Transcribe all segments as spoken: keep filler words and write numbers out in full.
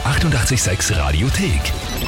achtundachtzig Komma sechs Radiothek.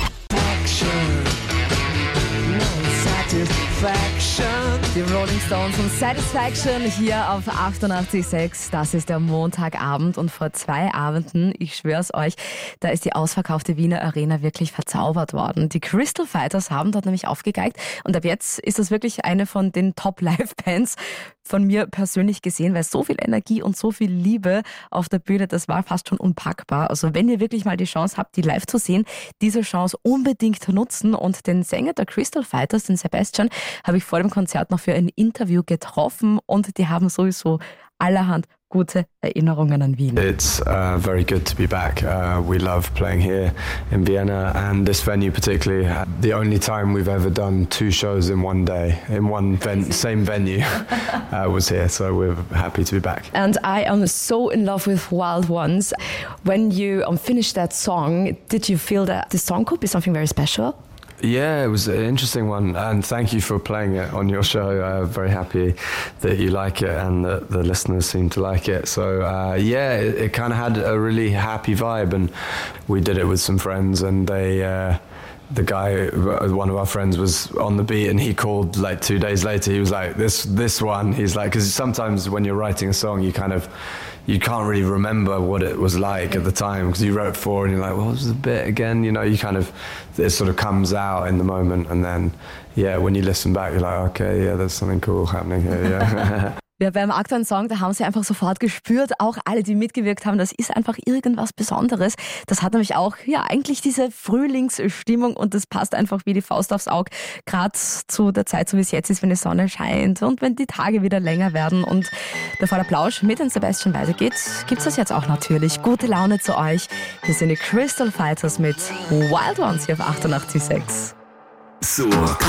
Die Rolling Stones und Satisfaction hier auf achtundachtzig Komma sechs. Das ist der Montagabend und vor zwei Abenden, ich schwör's euch, da ist die ausverkaufte Wiener Arena wirklich verzaubert worden. Die Crystal Fighters haben dort nämlich aufgegeigt und ab jetzt ist das wirklich eine von den Top-Live-Bands von mir persönlich gesehen, weil so viel Energie und so viel Liebe auf der Bühne, das war fast schon unpackbar. Also wenn ihr wirklich mal die Chance habt, die live zu sehen, diese Chance unbedingt nutzen. Und den Sänger der Crystal Fighters, den Sebastian, habe ich vor dem Konzert noch für ein Interview getroffen und die haben sowieso allerhand gute Erinnerungen an Wien. It's uh, very good to be back. Uh, we love playing here in Vienna and this venue particularly. The only time we've ever done two shows in one day, in one ven- same venue, uh, was here. So we're happy to be back. And I am so in love with Wild Ones. When you um, finished that song, did you feel that the song could be something very special? Yeah, it was an interesting one, and thank you for playing it on your show. I'm very happy that you like it and that the listeners seem to like it. So uh, yeah, it, it kind of had a really happy vibe, and we did it with some friends, and they... Uh, the guy, one of our friends, was on the beat and he called like two days later. He was like, this this one, he's like, because sometimes when you're writing a song, you kind of, you can't really remember what it was like at the time because you wrote four and you're like, well, what was the bit again? You know, you kind of, it sort of comes out in the moment, and then, yeah, when you listen back, you're like, okay, yeah, there's something cool happening here, yeah. Ja, beim aktuellen Song, da haben sie einfach sofort gespürt, auch alle, die mitgewirkt haben, das ist einfach irgendwas Besonderes. Das hat nämlich auch, ja, eigentlich diese Frühlingsstimmung und das passt einfach wie die Faust aufs Auge, gerade zu der Zeit, so wie es jetzt ist, wenn die Sonne scheint und wenn die Tage wieder länger werden. Und bevor der Plausch mit den Sebastian weitergeht, gibt's das jetzt auch natürlich. Gute Laune zu euch. Hier sind die Crystal Fighters mit Wild Ones hier auf achtundachtzig Komma sechs. So rockt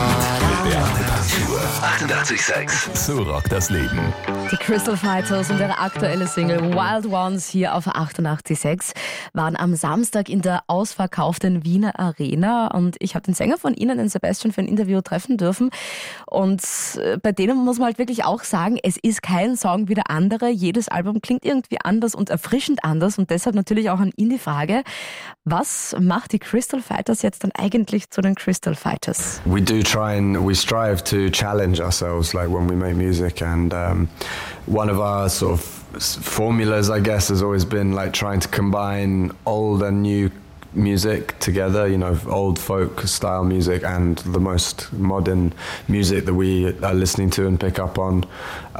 achtundachtzig Komma sechs. So rockt das Leben. Die Crystal Fighters und ihre aktuelle Single Wild Ones hier auf achtundachtzig Komma sechs waren am Samstag in der ausverkauften Wiener Arena und ich habe den Sänger von ihnen, den Sebastian, für ein Interview treffen dürfen und bei denen muss man halt wirklich auch sagen, es ist kein Song wie der andere. Jedes Album klingt irgendwie anders und erfrischend anders und deshalb natürlich auch an ihn die Frage, was macht die Crystal Fighters jetzt dann eigentlich zu den Crystal Fighters? We do try and we strive to challenge ourselves, like when we make music, and um, one of our sort of formulas, I guess, has always been like trying to combine old and new music together, you know, old folk style music and the most modern music that we are listening to and pick up on,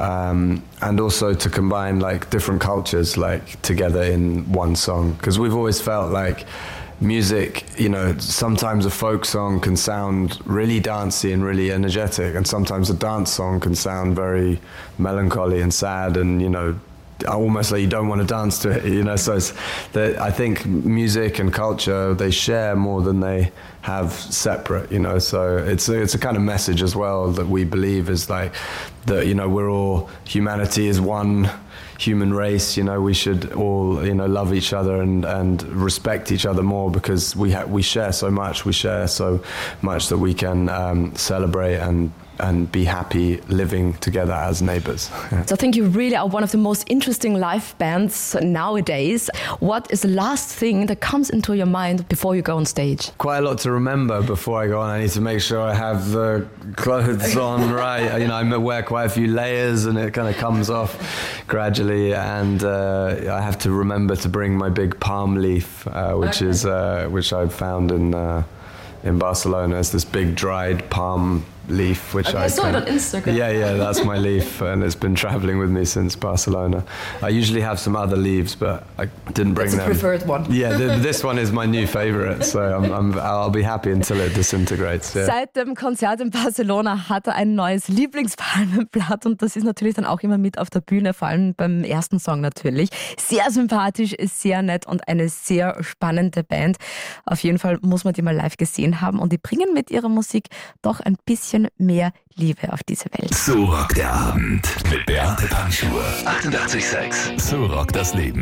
um, and also to combine like different cultures like together in one song, because we've always felt like music, you know, sometimes a folk song can sound really dancey and really energetic, and sometimes a dance song can sound very melancholy and sad and, you know, almost like you don't want to dance to it, you know. So it's that I think music and culture, they share more than they have separate, you know. So it's a, it's a kind of message as well that we believe is like that, you know, we're all, humanity is one human race, you know. We should all, you know, love each other and, and respect each other more, because we ha- we share so much, we share so much that we can um, celebrate and and be happy living together as neighbors. So I think you really are one of the most interesting live bands nowadays. What is the last thing that comes into your mind before you go on stage? Quite a lot to remember before I go on. I need to make sure I have the clothes on right. You know, I wear quite a few layers and it kind of comes off gradually, and uh, I have to remember to bring my big palm leaf, uh, which okay. is uh, which I found in uh, in Barcelona. It's this big dried palm leaf, which okay, I, I saw can, it on Instagram. Yeah, yeah, that's my leaf, and it's been traveling with me since Barcelona. I usually have some other leaves, but I didn't bring that's them. That's the preferred one. Yeah, th- this one is my new favorite, so I'm, I'm, I'll be happy until it disintegrates. Yeah. Seit dem Konzert in Barcelona hat er ein neues Lieblingspalmenblatt und das ist natürlich dann auch immer mit auf der Bühne, vor allem beim ersten Song natürlich. Sehr sympathisch, ist sehr nett und eine sehr spannende Band. Auf jeden Fall muss man die mal live gesehen haben und die bringen mit ihrer Musik doch ein bisschen mehr Liebe auf diese Welt. So rockt der Abend mit Beate Panschur. achtundachtzig Komma sechs. So rockt das Leben.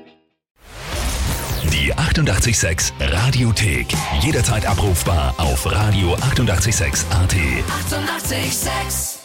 Die achtundachtzig Komma sechs Radiothek. Jederzeit abrufbar auf radio achtundachtzig Komma sechs Punkt a t. achtundachtzig Komma sechs